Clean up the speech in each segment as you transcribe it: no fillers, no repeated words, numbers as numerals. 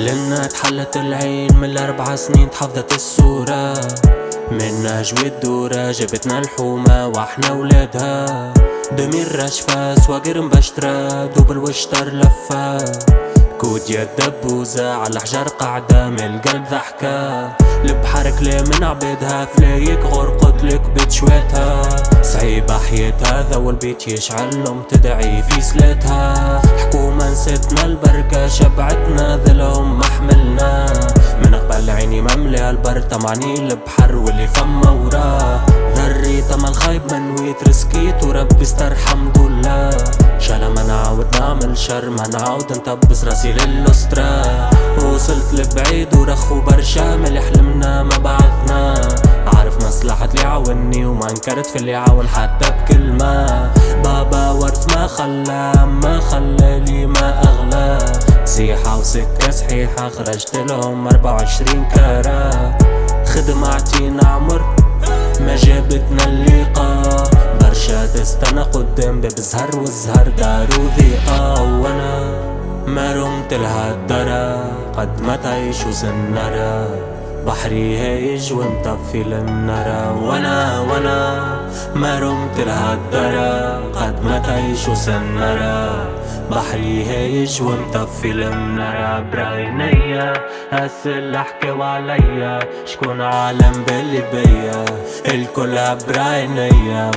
لنا اتحلت العين من ال4 سنين تحفظت الصورة، منا جوي الدورة جبتنا الحومة واحنا ولادها. دمير رشفة سواقر مبشترة دوب الوشتر لفة، كود يد دبوزة على حجر قاعدة من القلب ضحكة. البحر كلي من عبيدها فلايك غرقت لك بتشويتها، صعيبة حياتها ذا والبيت يشعل لهم تدعي في سلاتها. حكومة نسيتنا البركة شبعتنا ذلهم ما حملنا، من قبل عيني مملي البر طمعني البحر واللي فما وراه. ذري طمع الخايب منويت رسكيت وربي استر الحمد لله. شالا ما نعاود نعمل شر ما نعاود نطبس راسي للأسرة. وصلت لبعيد ورخو برشا من اللي حلمنا ما بعثنا، عارف مصلحة اللي عاوني وما انكرت في اللي عاون حتى بكلمة. بابا ورث ما خلى لي ما أغلى، سيحة وسكة صحيحة خرجت لهم 24 كارة. خدماتي نعمر ما جابتنا اللقاء، برشا تستنى قدام باب الزهر والزهر دارو ضيقة. وانا ما رمت لها الدرا قد ما تعيش وسنرة، بحري هايج ومطفي للنرى. وانا ما رمت لها الدرا قد ما تعيش وسنرة، بحري هايج ومطفي للنرى. بعينيا هالسل حكاو عليا شكون عالم باللي بيا، الكل بعينيا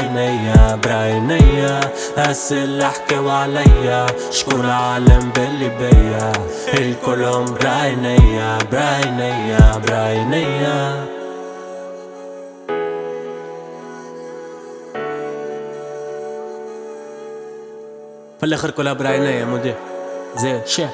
هالسل حكاو عليا شكون عالم باللي بيا، الكلهم بعينيا. في الاخر كلها بعينيا يا مدير زين شاه.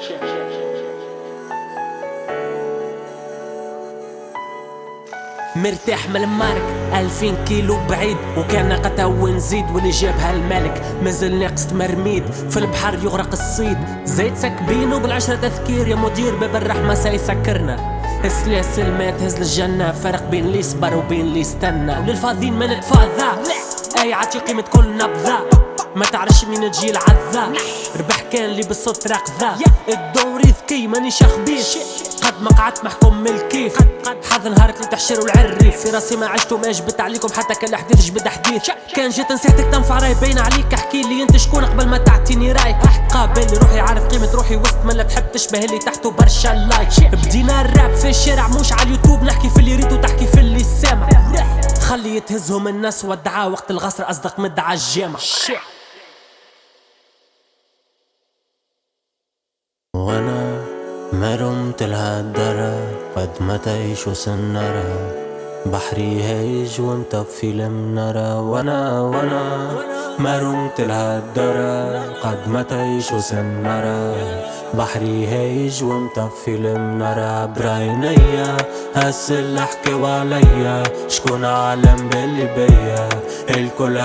مرتاح من المارك 2000 كيلو بعيد وكان قتا ونزيد، واللي جابها الملك مازال ناقص مرميد. في البحر يغرق الصيد زيت سكبينو بالعشرة تذكير يا مدير باب الرحمة سيسكرنا. السلاسل ما تهز للجنة، فرق بين اللي صبر وبين اللي استنى، وللفاضين ما نتفاضى. اي عطي قيمة كل نبضة ما تعرفش مين تجي العذاب، ربح كان لي بالصوت راقذا. الدوري ذكي مانيش خبيث قد ما قعدت محكوم من الكيف، حظ نهارك اللي تحشر والعريف في راسي ما عشت وما جبت عليكم حتى كان الحديث جبد حديث. كان جيت نصيحتك تنفع راي باين عليك، احكي لي انت شكون قبل ما تعطيني رايك. قابل روحي عارف قيمة روحي وسط من لا تحب تشبه اللي تحته برشا لايك. بدينا الراب في الشارع مش على اليوتيوب، نحكي في اللي ريت وتحكي في اللي سامع، خلي يتهزهم الناس والدعاء وقت الغصر اصدق مدعى الجامع. وانا ما رمت لها الدرا قد ما تعيش وسنرة، بحري هايج ومطفي المنرة. وانا ما رمت لها الدرا قد ما تعيش وسنرة، بحري هايج ومطفي المنرة. بعينيا هالسل حكاو عليا شكون عالم باللي بيا، الكل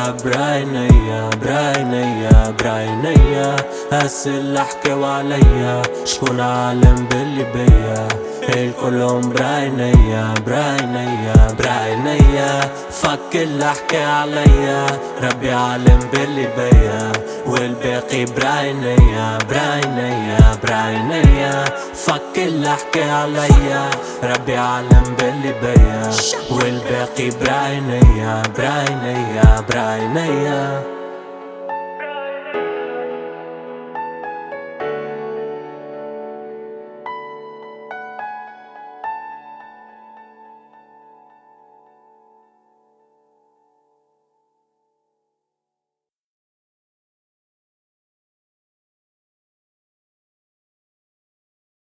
بعينيا هالسل حكاو عليا شكون عالم باللي بيا، الكلهم بعينيا. فك اللي حكى عليا ربي عالم باللي بيا، والباقي بعينيا. فك اللي حكى عليا ربي عالم باللي بيا، والباقي بعينيا.